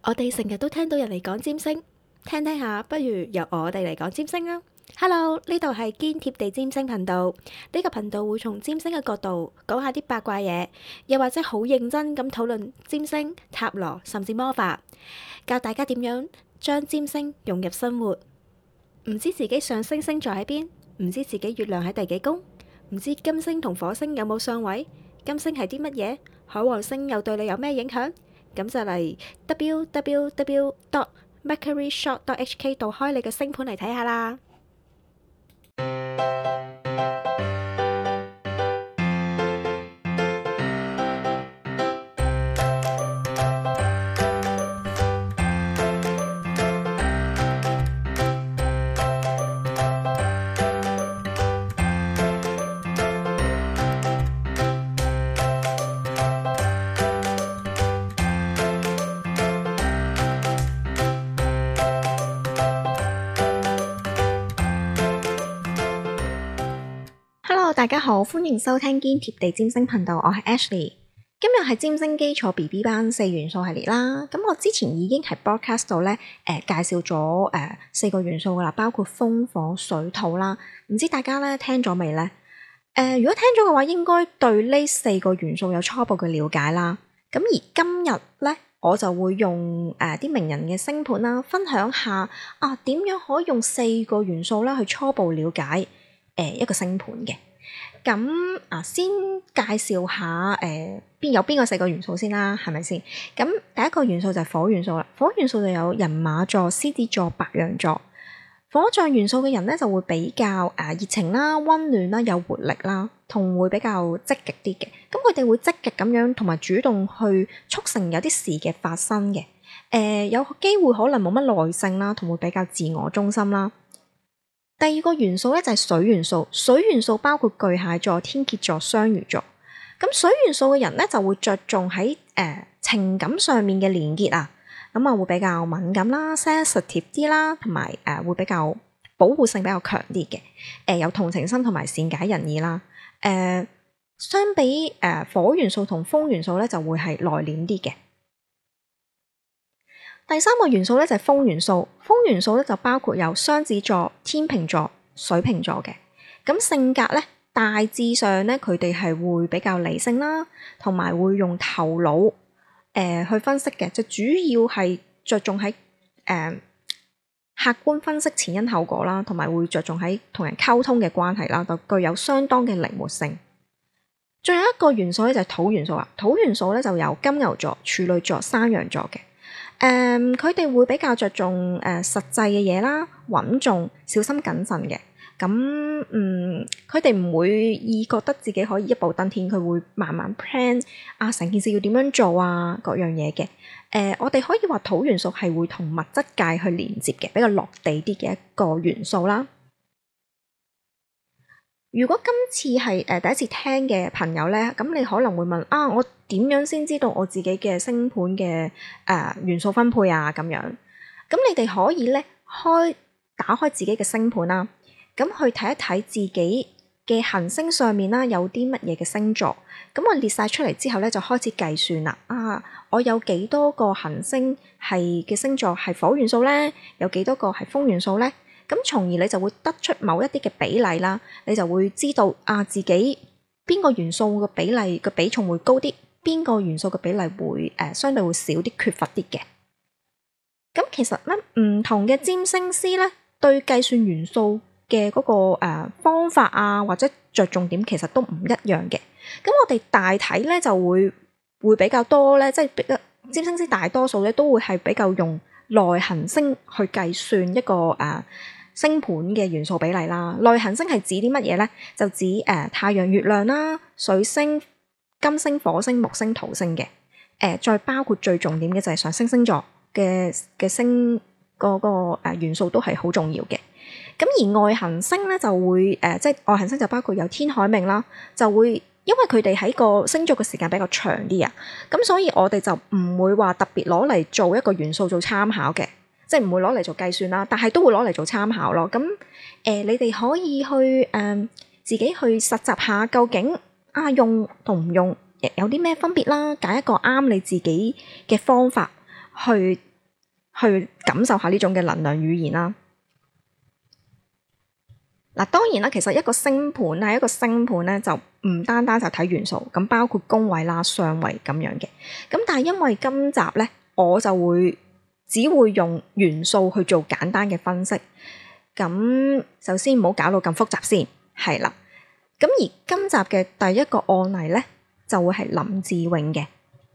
我哋成日都聽到人嚟講占星，聽聽下，不如由我哋嚟講占星啦。Hello，呢度係堅貼地占星頻道。呢個頻道會從占星嘅角度講下啲八卦嘢，又或者好認真咁討論占星、塔羅甚至魔法，教大家點樣將占星融入生活。唔知自己上升星座喺邊，唔知自己月亮喺第幾宮，唔知金星同火星有冇相位，金星係啲乜嘢，海王星又對你有咩影響？咁就嚟 www.mercuryshop.hk 度開你嘅星盤嚟睇下啦。Hello， 大家好，歡迎收聽堅貼地占星頻道，我係 Ashley。今日係占星基礎 BB 班4元素系列啦。咁我之前已經喺 broadcast 度咧介紹咗4個元素噶啦，包括風、火、水、土啦。唔知大家咧聽咗未呢？如果聽咗嘅話，應該對呢4個元素有初步嘅了解啦。咁而今日咧，我就會用啲名人嘅星盤啦，分享下點樣可以用4個元素咧去初步了解一個星盤嘅。咁先介紹下有邊個4個元素先啦，係咪先？咁第一個元素就係火元素啦。火元素就有人馬座、獅子座、白羊座。火象元素嘅人咧就會比較熱情啦、溫暖啦、有活力啦，同會比較積極啲嘅。咁佢哋會積極咁樣同埋主動去促成有啲事嘅發生嘅。有機會可能冇乜耐性啦，同會比較自我中心啦。第二個元素咧就係水元素，水元素包括巨蟹座、天蠍座、雙魚座。咁水元素嘅人咧就會着重喺情感上面嘅連結啊，咁會比較敏感啦、sensitive 啲啦，同埋會比較保護性比較強啲嘅，有同情心同埋善解人意啦。相比火元素同風元素咧就會係內斂啲嘅。第三個元素咧就係風元素，風元素咧就包括有雙子座、天秤座、水瓶座嘅。咁性格咧大致上咧佢哋係會比較理性啦，同埋會用頭腦去分析嘅，就主要係着重喺客觀分析前因後果啦，同埋會着重喺同人溝通嘅關係啦，就具有相當嘅靈活性。最後一個元素咧就係土元素啦，土元素咧就有金牛座、處女座、山羊座嘅。佢哋會比較着重實際嘅嘢啦，穩重、小心謹慎嘅。咁佢哋唔會意覺得自己可以一步登天，佢會慢慢 plan 成件事要點樣做各樣嘢嘅。我哋可以話土元素係會同物質界去連接嘅，比較落地啲嘅一個元素啦。如果今次係第一次聽嘅朋友咧，咁你可能會問我點樣先知道我自己嘅星盤嘅元素分配咁樣？咁你哋可以咧打開自己嘅星盤啦，咁去睇一睇自己嘅行星上面啦，有啲乜嘢嘅星座。咁我列晒出嚟之後咧，就開始計算啦。我有幾多個行星係嘅星座係火元素咧？有幾多個係風元素咧？咁從而你就會得出某一啲嘅比例啦，你就會知道自己邊個元素嘅比例嘅比重會高啲，邊個元素嘅比例會相對會少啲，缺乏啲嘅。咁其實咧，唔同嘅占星師咧，對計算元素嘅嗰個方法或者着重點其實都唔一樣嘅。咁我哋大體咧就會比較多咧，即係比較占星師大多數咧都會係比較用內行星去計算一個星盤嘅元素比例啦。內行星係指啲乜嘢咧？就指太陽、月亮啦、水星、金星、火星、木星、土星嘅。再包括最重點嘅就係上升星座嘅星嗰個元素都係好重要嘅。咁而外行星咧就會即係外行星就包括有天海冥啦，就會因為佢哋喺個星座嘅時間比較長啲咁所以我哋就唔會話特別攞嚟做一個元素做參考嘅。即係唔會攞嚟做計算啦，但係都會攞嚟做參考咯。咁你哋可以去自己去實習下，究竟用同唔用有啲咩分別啦，揀一個啱你自己嘅方法去去感受下呢種嘅能量語言啦。嗱，當然啦，其實一個星盤咧就唔單單就睇元素，咁包括宮位啦、相位咁樣嘅。咁但係因為今集咧，我就只會用元素去做簡單嘅分析。咁首先唔好搞到咁複雜先，係啦。咁而今集嘅第一個案例咧，就會係林志穎嘅。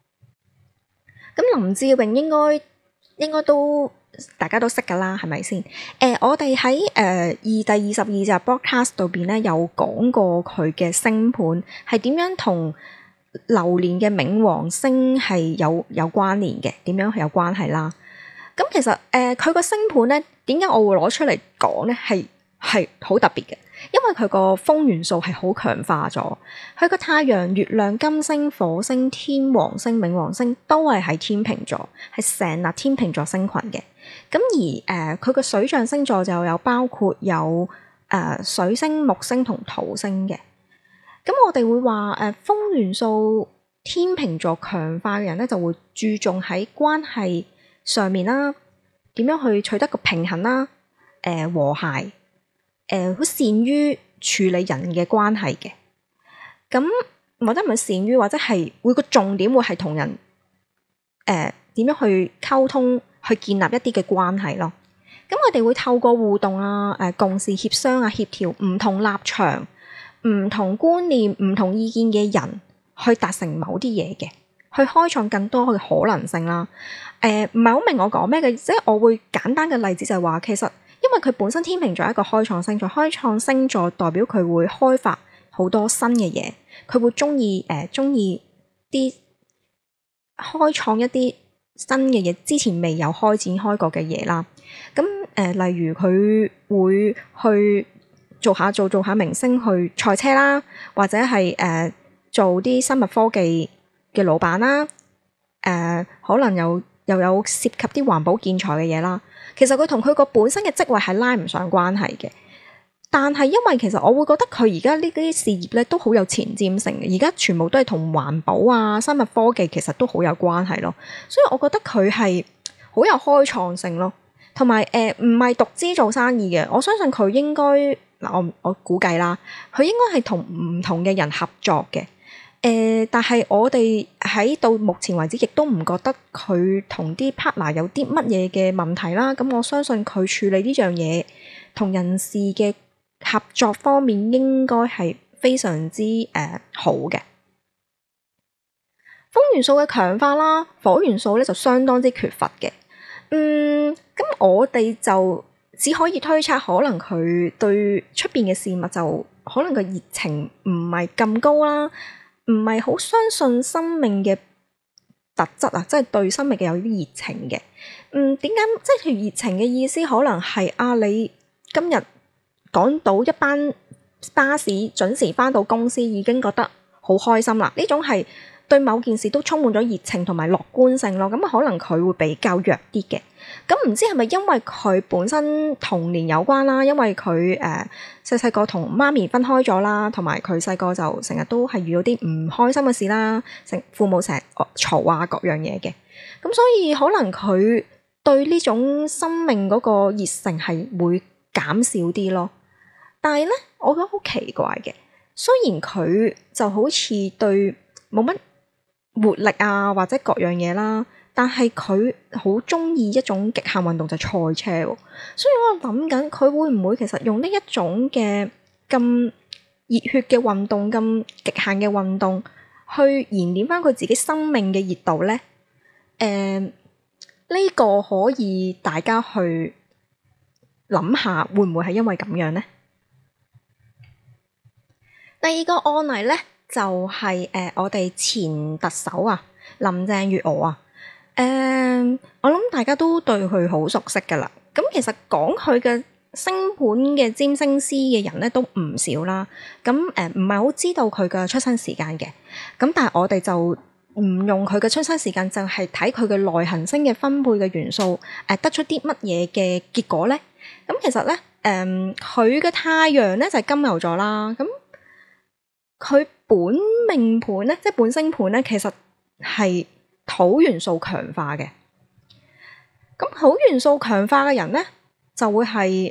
咁林志穎應該都大家都識噶啦，係咪先？我哋喺第22集 broadcast 度邊咧有講過佢嘅星盤係點樣同流年嘅冥王星係有關聯嘅，點樣係有關係啦。咁其實佢個星盤咧，點解我會攞出嚟講咧？係好特別嘅，因為佢個風元素係好強化咗。佢個太陽、月亮、金星、火星、天王星、冥王星都係喺天秤座，係成立天秤座星群嘅。咁而佢個水象星座就有包括有水星、木星同土星嘅。咁我哋會話風元素天秤座強化嘅人咧，就會注重喺關係上面啦，點樣去取得個平衡啦，和諧，好善於處理人嘅關係嘅。咁或者唔係善於，或者係會個重點會係同人點樣去溝通，去建立一啲嘅關係咯。咁我哋會透過互動啊、共事協商啊、協調唔同立場、唔同觀念、唔同意見嘅人，去達成某啲嘢嘅，去開創更多嘅可能性啦。唔係好明我講咩嘅，即係我會簡單嘅例子就係話，其實因為佢本身天秤座係一個開創星座，開創星座代表佢會開發好多新嘅嘢，佢會中意啲開創一啲新嘅嘢，之前未有開展開過嘅嘢啦。咁例如佢會去做下明星去賽車啦，或者係做啲生物科技嘅老闆啦。可能又有涉及啲環保建材嘅嘢啦。其實佢同佢個本身嘅職位係拉唔上關係嘅，但係因為其實我會覺得佢而家呢啲事業咧都好有前瞻性嘅，而家全部都係同環保啊、生物科技其實都好有關係咯，所以我覺得佢係好有開創性咯，同埋唔係獨資做生意嘅，我相信佢應該我估計啦，佢應該係同唔同嘅人合作嘅。但係我哋喺到目前為止，亦都唔覺得佢同啲 partner 有啲乜嘢嘅問題啦。咁我相信佢處理呢樣嘢同人事嘅合作方面，應該係非常之好嘅。風元素嘅強化啦，火元素咧就相當之缺乏嘅。咁我哋就只可以推測，可能佢對出邊嘅事物就可能個熱情唔係咁高啦。唔係好相信生命嘅特質啊，即係對生命嘅有啲熱情嘅。點解即係熱情嘅意思？可能係你今日趕到一班巴士準時返到公司，已經覺得好開心啦。呢種係對某件事都充滿咗熱情同埋樂觀性咯。咁可能佢會比較弱啲嘅。咁唔知係咪因為佢本身童年有關啦？因為佢細個同媽咪分開咗啦，同埋佢細個就成日都係遇到啲唔開心嘅事啦，父母成日嘈啊各樣嘢嘅。咁所以可能佢對呢種生命嗰個熱誠係會減少啲咯。但係咧，我覺得好奇怪嘅，雖然佢就好似對冇乜活力啊，或者各樣嘢啦。但係佢好中意一種極限運動就係賽車，所以我諗緊佢會唔會其實用呢一種嘅咁熱血嘅運動、咁極限嘅運動去燃點翻佢自己生命嘅熱度呢？呢個可以大家去諗下，會唔會係因為咁樣呢？第二個案例呢，就係我哋前特首啊，林鄭月娥啊。我諗大家都對佢好熟悉噶啦。咁其實講佢嘅星盤嘅占星師嘅人咧都唔少啦。咁唔係好知道佢嘅出生時間嘅。咁但係我哋就唔用佢嘅出生時間，就係睇佢嘅內行星嘅分配嘅元素，得出啲乜嘢嘅結果咧？咁其實咧，佢嘅太陽咧就係金牛座啦。咁佢本命盤咧，即係本星盤咧，其實係土元素強化嘅。咁土元素強化嘅人呢，就會係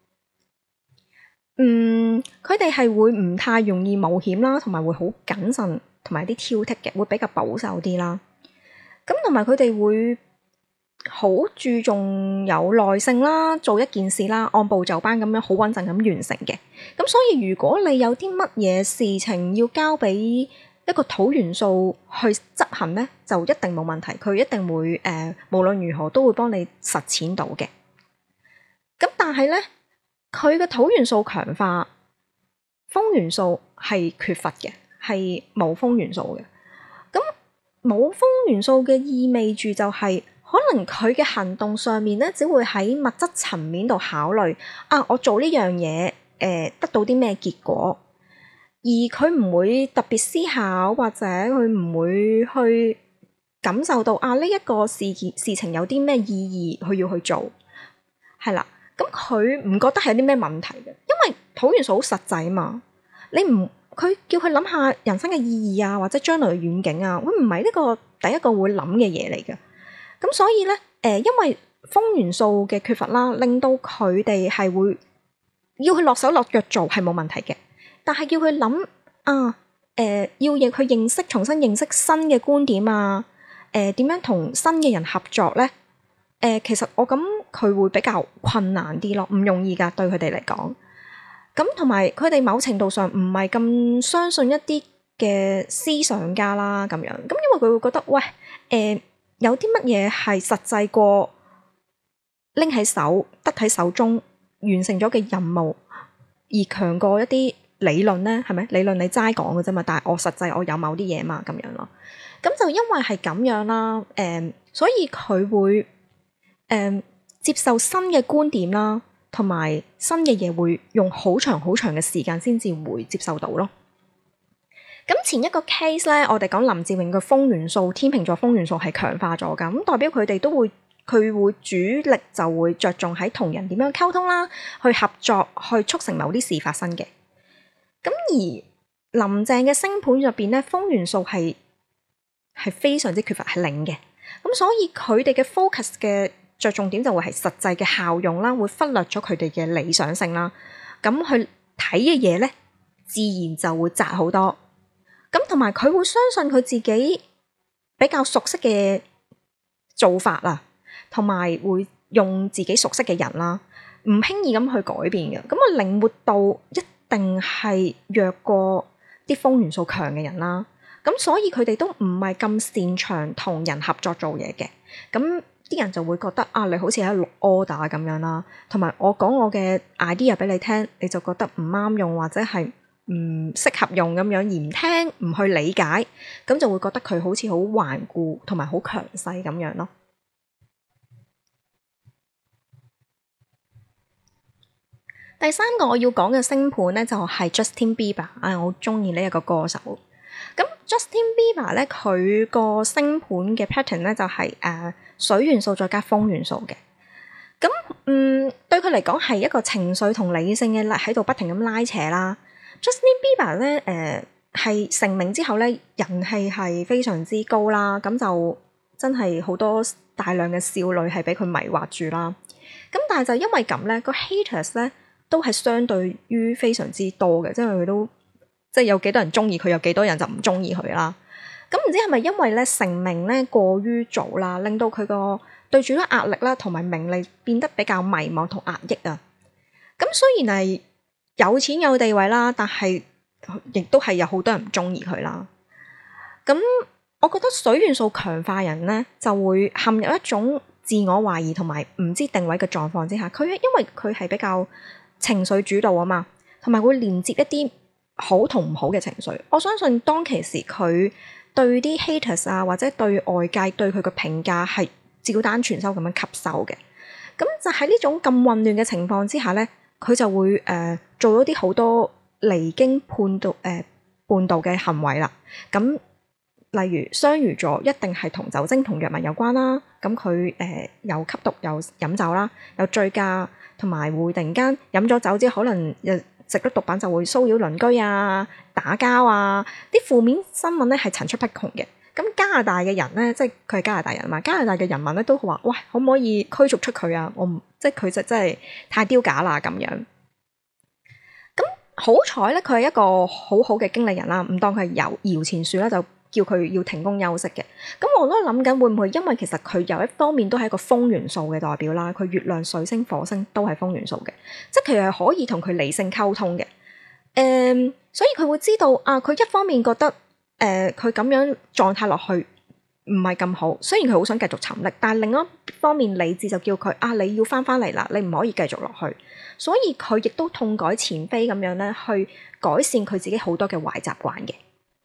佢哋係會唔太容易冒險啦，同埋會好謹慎，同埋啲挑剔嘅，會比較保守啲啦。咁同埋佢哋會好注重有耐性啦，做一件事啦，按部就班咁樣好穩陣咁完成嘅。咁所以如果你有啲乜嘢事情要交俾一個土元素去執行呢，就一定冇問題，佢一定會無論如何都會幫你實踐到嘅。咁但係呢，佢嘅土元素強化，風元素係缺乏嘅，係冇風元素嘅。咁冇風元素嘅意味住就係，可能佢嘅行動上面咧，只會喺物質層面度考慮啊，我做呢樣嘢得到啲咩結果，而佢唔會特別思考，或者佢唔會去感受到啊呢一個事情有啲咩意義，佢要去做，係啦。咁佢唔覺得係有啲咩問題嘅，因為土元素好實際嘛。佢叫佢諗下人生嘅意義啊，或者將來嘅遠景啊，佢唔係呢個第一個會諗嘅嘢嚟嘅。咁所以咧，因為風元素嘅缺乏啦，令到佢哋係會要佢落手落腳做係冇問題嘅，但係要佢諗啊，要佢重新認識新嘅觀點啊，點樣同新嘅人合作咧？其實我諗佢會比較困難啲咯，唔容易噶，對佢哋嚟講。咁同埋佢哋某程度上唔係咁相信一啲嘅思想家啦，咁樣。咁因為佢會覺得，喂，有啲乜嘢係實際過拎喺手，得喺手中完成咗嘅任務，而強過一啲理論呢？係咪？理論你齋講嘅啫嘛，但係我實際我有某啲嘢嘛，咁樣咯。咁就因為係咁樣啦，所以佢會接受新嘅觀點啦，同埋新嘅嘢會用好長好長嘅時間先至會接受到咯。咁前一個 case 咧，我哋講林志穎嘅風元素，天秤座風元素係強化咗㗎，咁代表佢哋佢會主力就會着重喺同人點樣溝通啦，去合作，去促成某啲事發生嘅。咁而林鄭嘅星盤入邊咧，風元素係非常之缺乏，係零嘅。咁所以佢哋嘅 focus 嘅着重點就會係實際嘅效用啦，會忽略咗佢哋嘅理想性啦。咁去睇嘅嘢咧，自然就會窄好多。咁同埋佢會相信佢自己比較熟悉嘅做法啦，同埋會用自己熟悉嘅人啦，唔輕易咁去改變嘅。咁啊，靈活度一定係弱過啲風元素強嘅人啦。咁所以佢哋都唔係咁擅長同人合作做嘢嘅。咁啲人就會覺得啊，你好似喺度錄 order 咁樣啦，同埋我講我嘅 idea 俾你聽，你就覺得唔啱用或者係唔適合用咁樣，而唔聽唔去理解，咁就會覺得佢好似好頑固同埋好強勢咁樣咯。第三個我要講嘅星盤咧，就係 Justin Bieber。我好中意呢一個歌手。咁 Justin Bieber 咧，佢個星盤嘅 pattern 咧就係水元素再加風元素嘅。咁對佢嚟講係一個情緒同理性嘅喺度不停咁拉扯啦。Justin Bieber 咧係成名之後咧，人氣係非常之高啦。咁就真係好多大量嘅少女係俾佢迷惑住啦。咁但係就因為咁咧，個 haters 咧都係相對於非常之多嘅，即係佢都即係有幾多人中意佢，有幾多人就唔中意佢啦。咁唔知係咪因為咧成名咧過於早啦，令到佢個對住啲壓力啦同埋名利變得比較迷茫同壓抑啊。咁雖然係有錢有地位啦，但係亦都係有好多人唔中意佢啦。咁我覺得水元素強化人咧就會陷入一種自我懷疑同埋唔知定位嘅狀況之下，因為佢係比較情緒主導啊嘛，同埋會連接一啲好同唔好嘅情緒。我相信當其時佢對啲 haters 啊，或者對外界對佢嘅評價係照單全收咁樣吸收嘅。咁就喺呢種咁混亂嘅情況之下咧，佢就會做咗啲好多離經叛道嘅行為啦。咁例如雙魚座一定係同酒精同藥物有關啦。咁佢又吸毒又飲酒啦，又醉駕，同埋會突然間飲咗酒之後可能食咗毒品就會騷擾鄰居啊、打交啊，啲負面新聞咧係層出不窮嘅。 咁加拿大嘅人咧，即係佢係加拿大人嘛，加拿大嘅人民咧都話：喂，可唔可以驅逐出佢啊？我唔即係佢就真係太丟架啦咁樣。咁好彩咧，佢係一個好好嘅經理人啦，唔當佢係搖錢樹啦，就叫佢要停工休息嘅。咁我都諗緊會唔會因為其實佢有一方面都係一個風元素嘅代表啦，佢月亮、水星、火星都係風元素嘅，即係佢係可以同佢理性溝通嘅。所以佢會知道啊，佢一方面覺得佢咁樣狀態落去唔係咁好，雖然佢好想繼續沉溺，但係另一方面理智就叫佢啊，你要翻嚟啦，你唔可以繼續落去。所以佢亦都痛改前非咁樣咧，去改善佢自己好多嘅壞習慣嘅。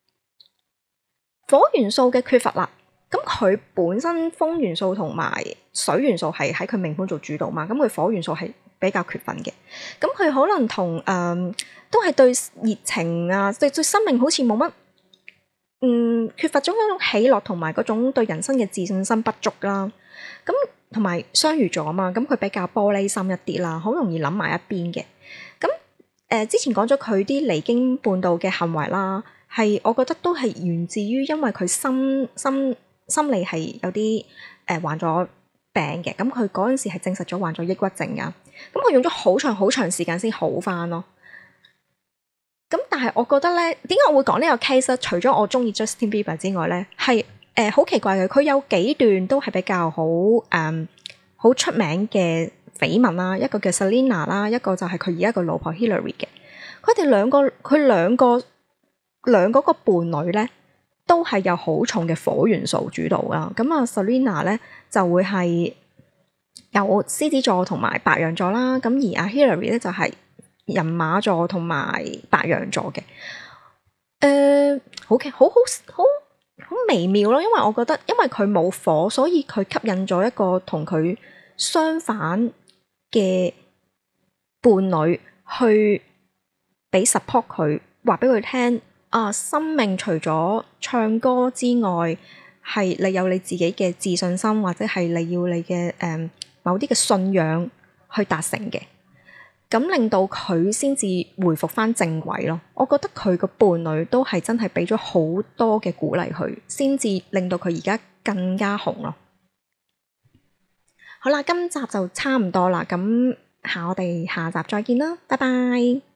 火元素嘅缺乏啦，咁佢本身風元素同埋水元素係喺佢命盤做主導嘛，咁佢火元素係比較缺乏嘅，咁佢可能同都係對熱情啊，對生命好似冇乜缺乏咗嗰種喜樂同埋嗰種對人生嘅自信心不足啦。咁同埋雙魚座啊嘛，咁佢比較玻璃心一啲啦，好容易諗埋一邊嘅。咁之前講咗佢啲離經叛道嘅行為啦，係我覺得都係源自於因為佢心理係有啲患咗病嘅，咁佢嗰陣時係證實咗患咗抑鬱症噶，咁佢用咗好長時間先好翻咯。咁但係我覺得咧，點解我會講呢個 case 咧？除咗我中意 Justin Bieber 之外咧，係好奇怪嘅，佢有幾段都係比較好出名嘅緋聞啦，一個叫 Selena 啦，一個就係佢而家個老婆 Hillary 嘅。佢兩個個伴侶咧，都係有好重嘅火元素主導啦。咁啊 Selena 咧就會係有獅子座同埋白羊座啦，咁而阿 Hillary 咧就係人馬座同埋白羊座嘅。好微妙咯，因為我覺得因為佢冇火，所以佢吸引咗一個同佢相反嘅伴侶去俾 support 佢，話俾佢聽啊，生命除咗唱歌之外，係你有你自己嘅自信心，或者係你要你嘅某啲嘅信仰去達成嘅。咁令到佢先至回復翻正軌咯。我覺得佢個伴侶都係真係俾咗好多嘅鼓勵佢，先至令到佢而家更加紅咯。好啦，今集就差唔多啦，咁我哋下集再見啦，拜拜。